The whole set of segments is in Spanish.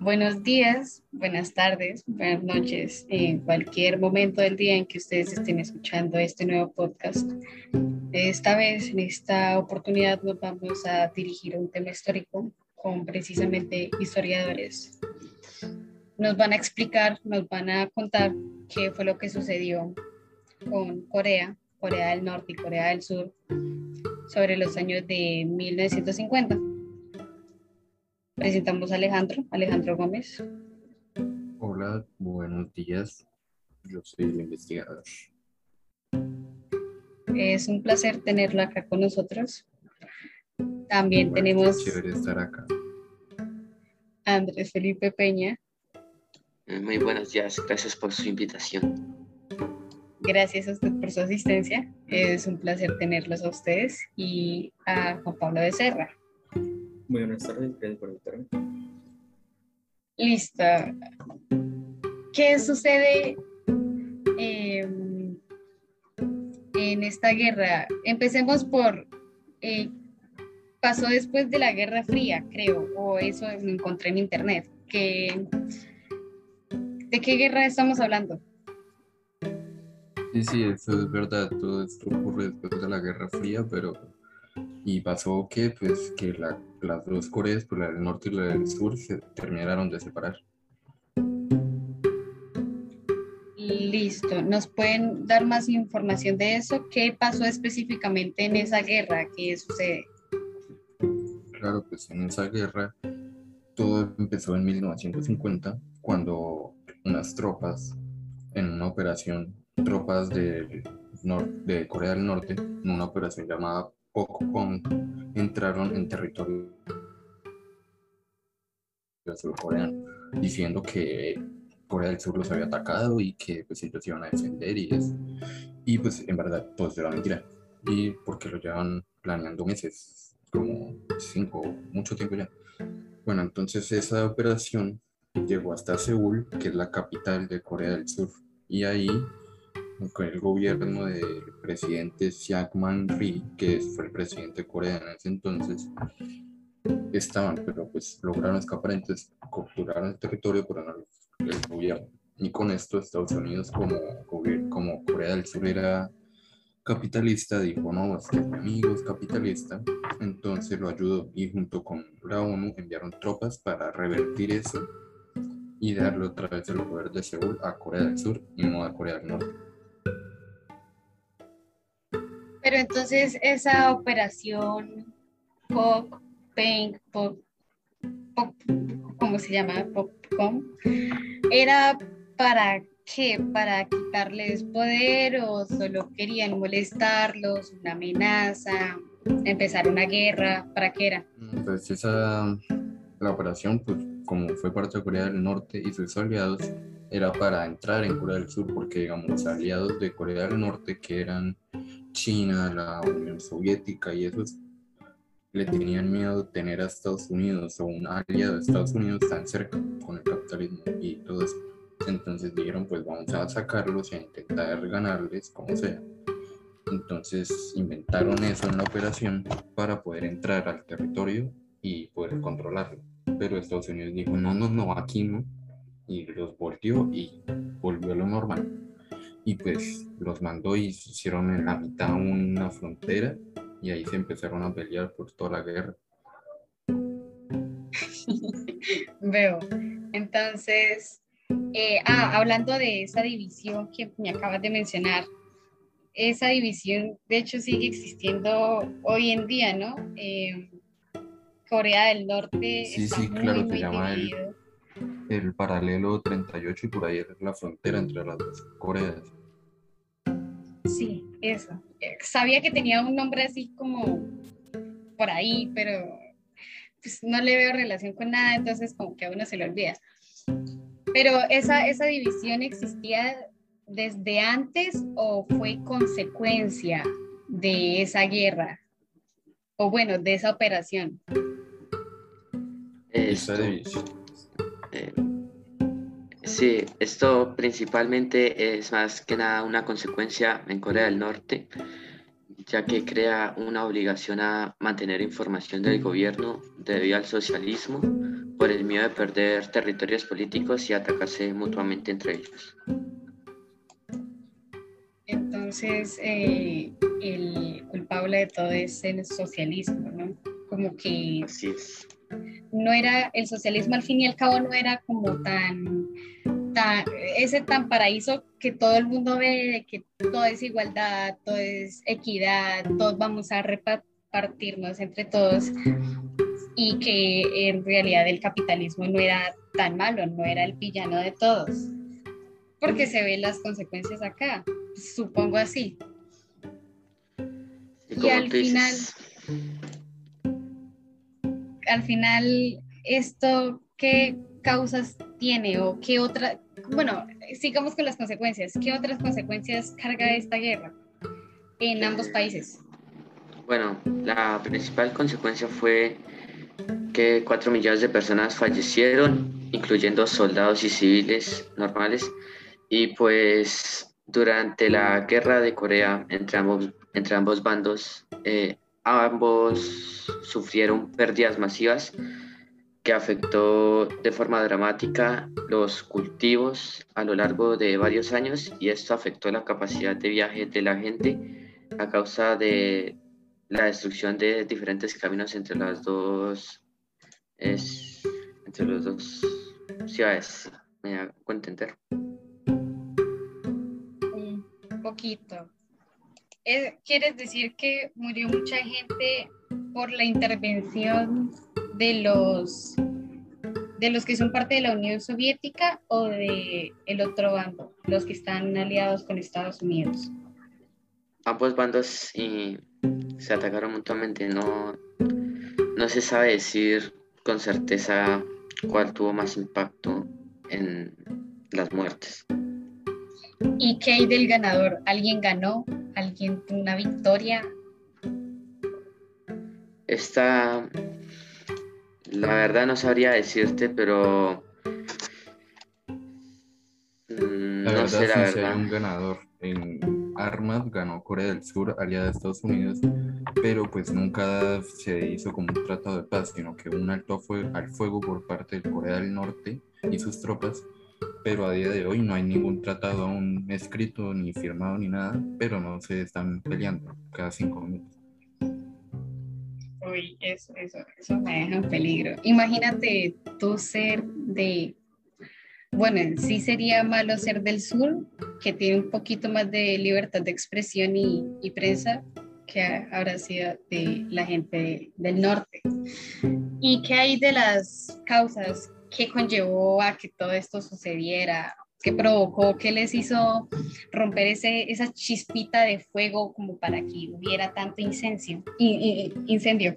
Buenos días, buenas tardes, buenas noches, en cualquier momento del día en que ustedes estén escuchando este nuevo podcast. Esta vez, en esta oportunidad, nos vamos a dirigir a un tema histórico con precisamente historiadores. Nos van a explicar, nos van a contar qué fue lo que sucedió con Corea, Corea del Norte y Corea del Sur sobre los años de 1950. Presentamos a Alejandro Gómez. Hola, buenos días. Yo soy el investigador. Es un placer tenerlo acá con nosotros. También Igual, qué tenemos chévere estar acá. a Andrés Felipe Peña. Muy buenos días, gracias por su invitación. Gracias a usted por su asistencia. Es un placer tenerlos a ustedes y a Juan Pablo Becerra. Muy buenas tardes, gracias por invitarme. Listo. ¿Qué sucede en esta guerra? Empecemos por, pasó después de la Guerra Fría, creo, o eso lo encontré en internet. ¿De qué guerra estamos hablando? Sí, eso es verdad. Todo esto ocurre después de la Guerra Fría, y pasó que las dos Coreas, pues la del norte y la del sur, se terminaron de separar. Listo. ¿Nos pueden dar más información de eso? ¿Qué pasó específicamente en esa guerra? ¿Qué sucede? Claro, pues en esa guerra todo empezó en 1950, cuando unas tropas, en una operación, tropas de Corea del Norte, en una operación llamada Pokpong, entraron en territorio surcoreano, diciendo que Corea del Sur los había atacado y que pues ellos iban a defender y eso. Y pues en verdad todo eso era mentira. Y porque lo llevan planeando meses, como 5, mucho tiempo ya. Bueno, entonces esa operación llegó hasta Seúl, que es la capital de Corea del Sur. Y ahí, con el gobierno del presidente Syngman Rhee, que fue el presidente de Corea en ese entonces, estaban, pero pues lograron escapar, entonces capturaron el territorio, pero no el gobierno. Y con esto Estados Unidos, como Corea del Sur era capitalista, dijo, no, es que mi amigo es capitalista, entonces lo ayudó y junto con la ONU enviaron tropas para revertir eso y darle otra vez el poder de Seúl a Corea del Sur y no a Corea del Norte. Pero entonces esa operación Pop, Paint, Pop, ¿cómo se llama? Popcom, ¿era para qué? ¿Para quitarles poder o solo querían molestarlos, una amenaza, empezar una guerra? ¿Para qué era? Pues la operación, pues como fue parte de Corea del Norte y sus aliados, era para entrar en Corea del Sur, porque digamos los aliados de Corea del Norte, que eran China, la Unión Soviética y esos, le tenían miedo de tener a Estados Unidos o un aliado de Estados Unidos tan cerca con el capitalismo y todo eso. Entonces dijeron, pues vamos a sacarlos y a intentar ganarles como sea. Entonces inventaron eso en la operación para poder entrar al territorio y poder controlarlo. Pero Estados Unidos dijo, no, aquí no. Y los volteó y volvió a lo normal. Y pues los mandó y hicieron en la mitad una frontera y ahí se empezaron a pelear por toda la guerra. Veo. Entonces, hablando de esa división que me acabas de mencionar, esa división de hecho sigue existiendo hoy en día, ¿no? Corea del Norte Sí, está sí, claro, se muy llama dividido. el paralelo 38 y por ahí es la frontera entre las dos Coreas. Sí, eso. Sabía que tenía un nombre así como por ahí, pero pues no le veo relación con nada, entonces como que a uno se le olvida. Pero esa división existía desde antes o fue consecuencia de esa guerra, o bueno, de esa operación. Esa Esto, división. eh, sí, esto principalmente es más que nada una consecuencia en Corea del Norte, ya que crea una obligación a mantener información del gobierno debido al socialismo, por el miedo de perder territorios políticos y atacarse mutuamente entre ellos. Entonces, el culpable de todo es el socialismo, ¿no? Como que Así es. no era, el socialismo al fin y al cabo no era como ese tan paraíso que todo el mundo ve, de que todo es igualdad, todo es equidad, todos vamos a repartirnos entre todos, y que en realidad el capitalismo no era tan malo, no era el villano de todos, porque se ven las consecuencias acá, supongo así. Y Y como tú dices, al final, ¿esto qué causas tiene o qué otra, bueno, sigamos con las consecuencias, qué otras consecuencias carga esta guerra en ambos países? bueno, la principal consecuencia fue que 4 millones de personas fallecieron, incluyendo soldados y civiles normales, y pues durante la guerra de Corea entre ambos bandos, ambos sufrieron pérdidas masivas que afectó de forma dramática los cultivos a lo largo de varios años y esto afectó la capacidad de viaje de la gente a causa de la destrucción de diferentes caminos es, entre las dos ciudades. ¿Me hago entender? Un poquito. ¿Quieres decir que murió mucha gente por la intervención de los que son parte de la Unión Soviética o de el otro bando, los que están aliados con Estados Unidos? Ambos bandos se atacaron mutuamente. No se sabe decir con certeza cuál tuvo más impacto en las muertes. ¿Y qué hay del ganador? ¿Alguien ganó? ¿Alguien tuvo una victoria? Esta, la verdad no sabría decirte, pero La no verdad, sé la sí, sí hay verdad. un ganador. En armas ganó Corea del Sur, aliada de Estados Unidos, pero pues nunca se hizo como un tratado de paz, sino que un alto al fuego por parte de Corea del Norte y sus tropas, pero a día de hoy no hay ningún tratado aún escrito, ni firmado, ni nada, pero no se están peleando cada 5 minutos. Uy, eso me deja en peligro. Imagínate tú ser bueno, en sí sería malo ser del sur, que tiene un poquito más de libertad de expresión y prensa, que habrá sido de la gente del norte. ¿Y qué hay de las causas que conllevó a que todo esto sucediera? ¿Qué provocó? ¿Qué les hizo romper esa chispita de fuego como para que hubiera tanto incendio?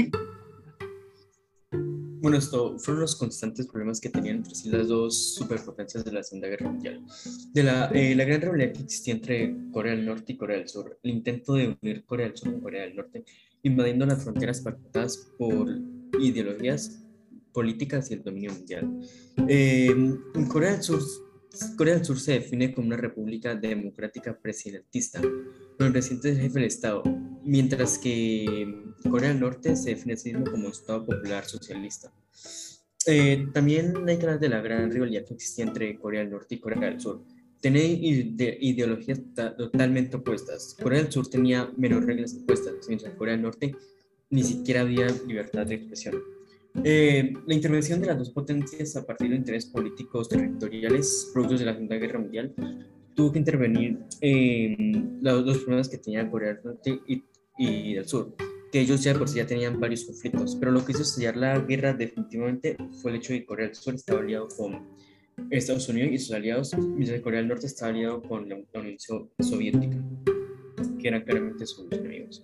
Bueno, esto fueron los constantes problemas que tenían entre sí las dos superpotencias de la Segunda Guerra Mundial. La gran rivalidad que existía entre Corea del Norte y Corea del Sur, el intento de unir Corea del Sur con Corea del Norte, invadiendo las fronteras pactadas por ideologías políticas y el dominio mundial. En Corea del Sur se define como una república democrática presidentista, con el presidente es el jefe del Estado, mientras que Corea del Norte se define a sí mismo como un Estado popular socialista. También hay que hablar de la gran rivalidad que existía entre Corea del Norte y Corea del Sur. Tenía ideologías totalmente opuestas. Corea del Sur tenía menos reglas impuestas, mientras en Corea del Norte ni siquiera había libertad de expresión. La intervención de las dos potencias a partir de intereses políticos territoriales productos de la Segunda Guerra Mundial tuvo que intervenir los problemas que tenía Corea del Norte y del Sur, que ellos ya por sí ya tenían varios conflictos, pero lo que hizo estallar la guerra definitivamente fue el hecho de que Corea del Sur estaba aliado con Estados Unidos y sus aliados, mientras que Corea del Norte estaba aliado con la Unión Soviética, que eran claramente sus enemigos.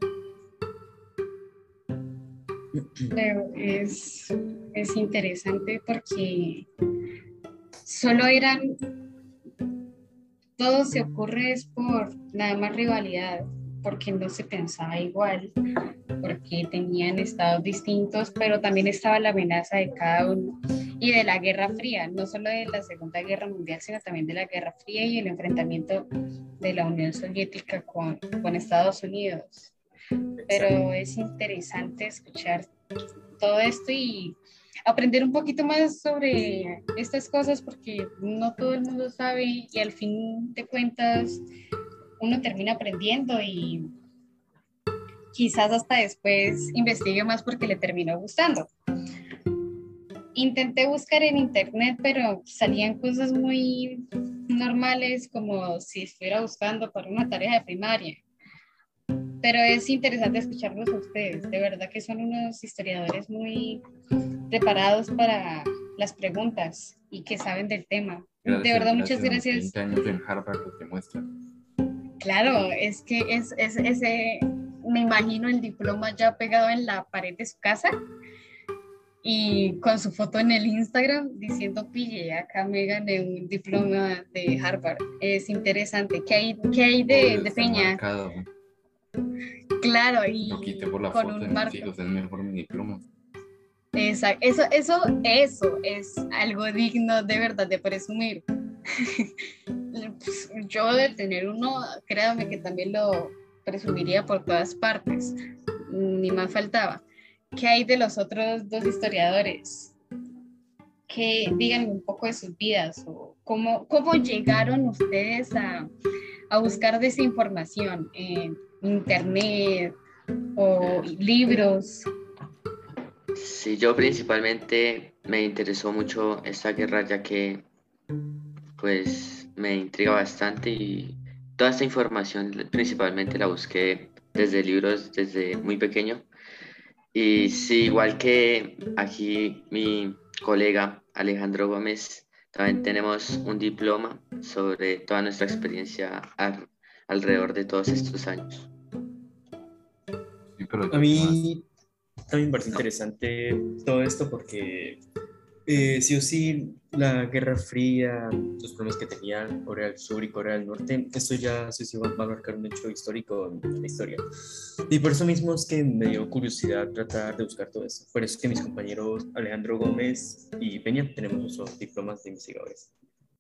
Pero es interesante porque solo todo se ocurre es por nada más rivalidad, porque no se pensaba igual, porque tenían estados distintos, pero también estaba la amenaza de cada uno y de la Guerra Fría, no solo de la Segunda Guerra Mundial, sino también de la Guerra Fría y el enfrentamiento de la Unión Soviética con Estados Unidos. Pero es interesante escuchar todo esto y aprender un poquito más sobre estas cosas porque no todo el mundo sabe y al fin de cuentas uno termina aprendiendo y quizás hasta después investigue más porque le terminó gustando. Intenté buscar en internet, pero salían cosas muy normales como si estuviera buscando para una tarea de primaria. Pero es interesante escucharlos a ustedes. De verdad que son unos historiadores muy preparados para las preguntas y que saben del tema. De verdad, muchas gracias. 20 años en Harvard lo demuestra. Claro, es que es ese, me imagino el diploma ya pegado en la pared de su casa y con su foto en el Instagram diciendo, pille, acá me gané un diploma de Harvard. Es interesante. ¿Qué hay de Peña? Marcado. Claro, y lo quité por la con foto un de mis marco. hijos, es mejor mi diploma. Exacto. Eso es algo digno de verdad de presumir. Pues, yo de tener uno, créame que también lo presumiría por todas partes. Ni más faltaba. ¿Qué hay de los otros dos historiadores? Que digan un poco de sus vidas o cómo llegaron ustedes a buscar desinformación en internet o libros. Sí, yo principalmente me interesó mucho esta guerra ya que pues me intriga bastante y toda esta información principalmente la busqué desde libros desde muy pequeño. Y sí, igual que aquí mi colega Alejandro Gómez, también tenemos un diploma sobre toda nuestra experiencia alrededor de todos estos años. Sí, pero A yo mí también me parece interesante todo esto porque sí o sí la Guerra Fría, los problemas que tenían Corea del Sur y Corea del Norte, esto ya sí o sí va a marcar un hecho histórico en la historia. Y por eso mismo es que me dio curiosidad tratar de buscar todo eso. Por eso es que mis compañeros Alejandro Gómez y Peña tenemos nuestros diplomas de investigadores.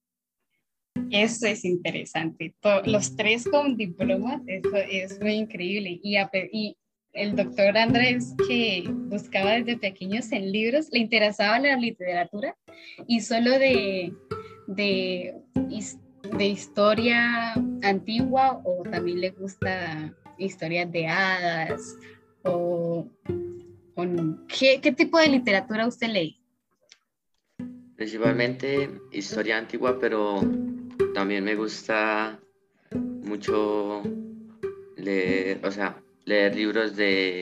Eso es interesante. Los tres con diplomas, eso es muy increíble. Y el doctor Andrés, que buscaba desde pequeños en libros, le interesaba la literatura y solo de, de historia antigua o también le gusta historias de hadas o ¿qué tipo de literatura usted lee? Principalmente historia antigua, pero también me gusta mucho leer, o sea, leer libros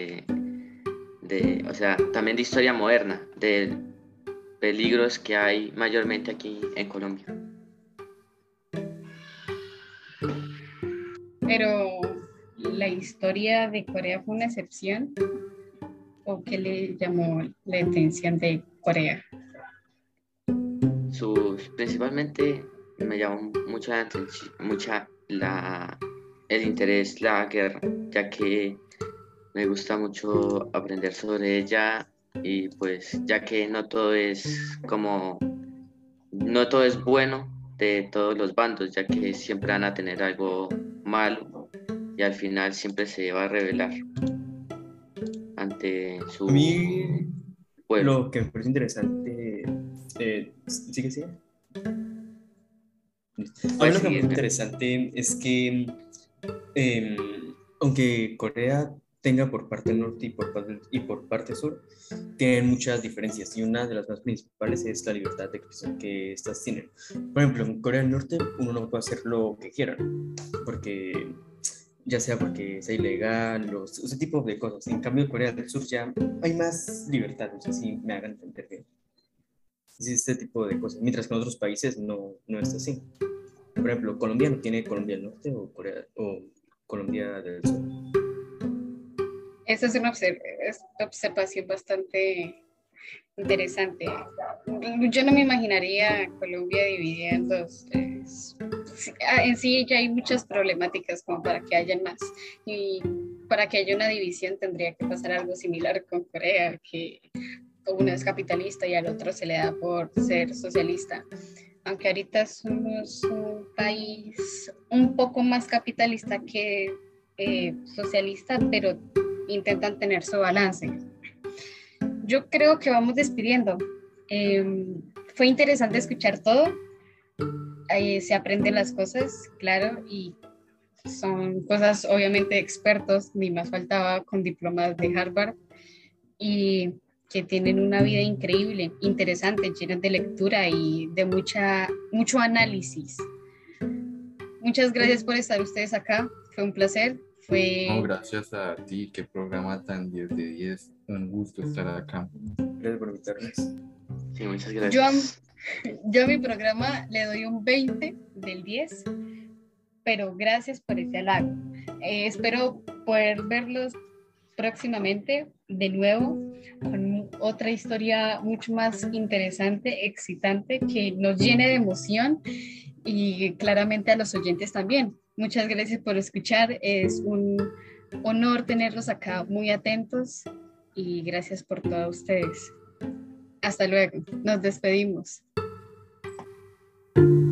o sea, también de historia moderna, de peligros que hay mayormente aquí en Colombia. Pero la historia de Corea fue una excepción o qué le llamó la atención de Corea. Principalmente me llamó el interés la guerra, ya que me gusta mucho aprender sobre ella y pues ya que no todo es bueno de todos los bandos, ya que siempre van a tener algo malo y al final siempre se va a revelar ante su A mí pueblo. lo que me parece interesante, ¿sí que sí? A mí Pues lo que sí, me parece Edgar. interesante es que em, aunque Corea tenga por parte norte y por parte sur, tienen muchas diferencias y una de las más principales es la libertad de expresión que estas tienen. Por ejemplo, en Corea del Norte uno no puede hacer lo que quiera, porque ya sea porque sea ilegal o ese tipo de cosas. En cambio, en Corea del Sur ya hay más libertad, no sé si me hagan entender bien. Sí, este tipo de cosas, mientras que en otros países no es así. Por ejemplo, Colombia no tiene Colombia del Norte o Colombia del Sur. Esa es una observación bastante interesante. Yo no me imaginaría Colombia dividida en dos. En sí ya hay muchas problemáticas como para que haya más. Y para que haya una división tendría que pasar algo similar con Corea, que uno es capitalista y al otro se le da por ser socialista. Aunque ahorita somos un país un poco más capitalista que socialista, pero intentan tener su balance. yo creo que vamos despidiendo. Fue interesante escuchar todo. Se aprenden las cosas, claro, y son cosas obviamente de expertos, ni más faltaba, con diplomas de Harvard, y que tienen una vida increíble, interesante, llena de lectura y de mucho análisis. Muchas gracias por estar ustedes acá, fue un placer. No, gracias a ti, qué programa tan 10 de 10. Un gusto estar acá. Gracias por invitarnos. Sí, muchas Yo a, gracias. yo a mi programa le doy un 20 del 10, pero gracias por ese halago. Espero poder verlos próximamente de nuevo con otra historia mucho más interesante, excitante, que nos llene de emoción y claramente a los oyentes también. Muchas gracias por escuchar. Es un honor tenerlos acá muy atentos y gracias por todos ustedes. Hasta luego. Nos despedimos.